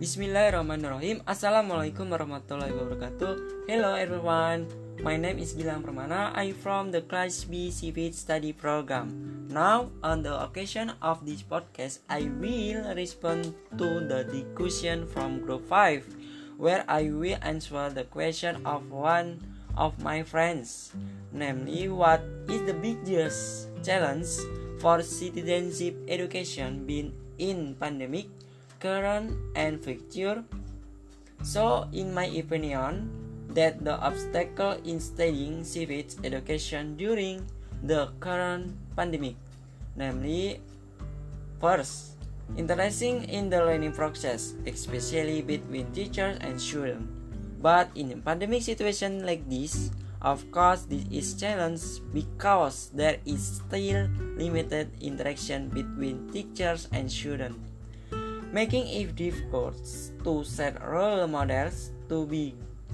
Bismillahirrahmanirrahim. Assalamualaikum warahmatullahi wabarakatuh. Hello everyone. My name is Gilang Permana. I'm from the Class B Civic Study Program. Now, on the occasion of this podcast, I will respond to the question from Group 5, where I will answer the question of one of my friends, namely, what is the biggest challenge for citizenship education being in pandemic, current and future? So in my opinion, that the obstacle in studying civics education during the current pandemic, namely, first, interesting in the learning process, especially between teachers and students. But in a pandemic situation like this, of course, this is challenge because there is still limited interaction between teachers and students, making it difficult to set role models to be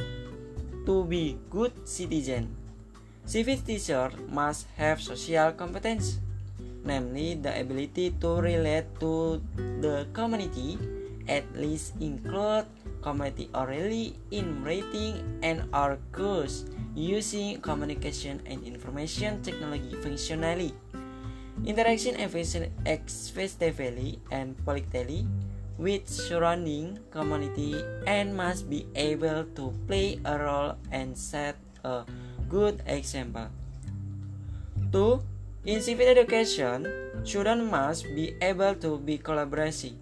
good citizens. Civic teachers must have social competence, namely the ability to relate to the community, at least include community orally in writing and or course using communication and information technology functionally, interaction effectively and politically with surrounding community, and must be able to play a role and set a good example. 2. In civic education, students must be able to be collaboration.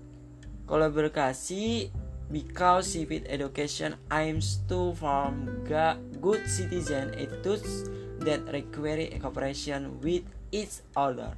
Because civic education aims to form good citizen attitudes that require cooperation with each other.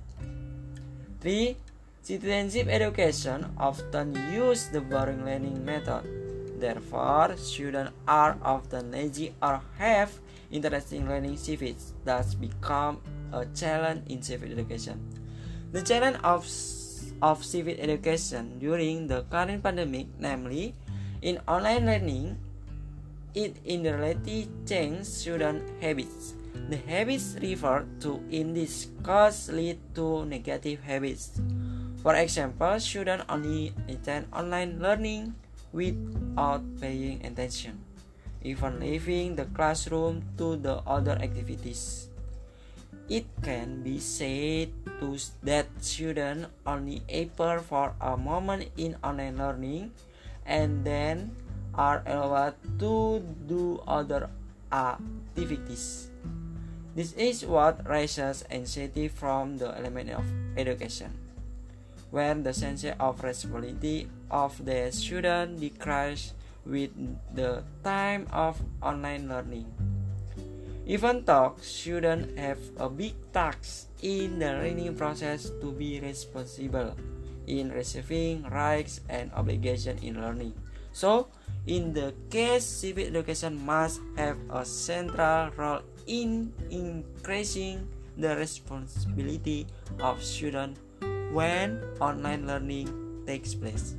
3. Citizenship education often use the boring learning method. Therefore, students are often lazy or have interesting learning civics, thus become a challenge in civic education. The challenge of civic education during the current pandemic, namely, in online learning, it indirectly changes student habits. The habits referred to in this course lead to negative habits. For example, students only attend online learning without paying attention, even leaving the classroom to the other activities. It can be said that students only appear for a moment in online learning and then are allowed to do other activities. This is what raises anxiety from the element of education, when the sense of responsibility of the student decreases with the time of online learning. Even though students have a big task in the learning process to be responsible in receiving rights and obligations in learning. So, in the case, civic education must have a central role in increasing the responsibility of students when online learning takes place.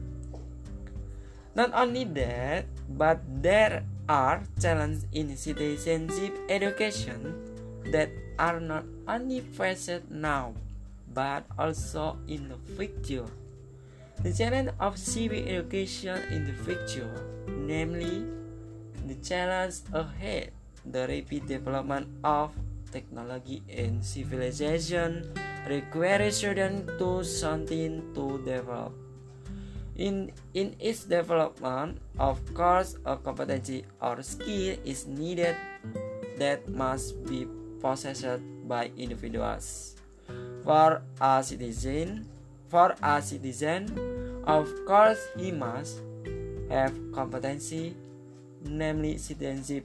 Not only that, but there are challenges in citizenship education that are not only faced now, but also in the future. The challenge of civic education in the future, namely the challenge ahead, the rapid development of technology and civilization requires students to something to develop. In its development, of course, a competency or skill is needed that must be possessed by individuals. For a citizen, of course, he must have competency, namely citizenship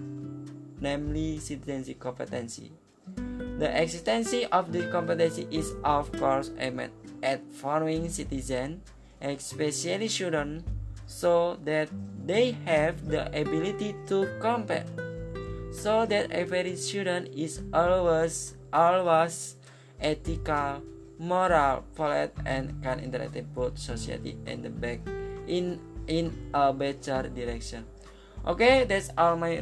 competency. The existence of this competency is, of course, aimed at forming citizens, especially children, so that they have the ability to compete, so that every student is always ethical, moral, polite, and can interact both society and the back in a better direction. Okay, that's all my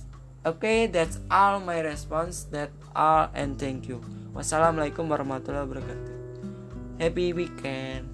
response. That's all, and thank you. Wassalamualaikum warahmatullahi wabarakatuh. Happy weekend.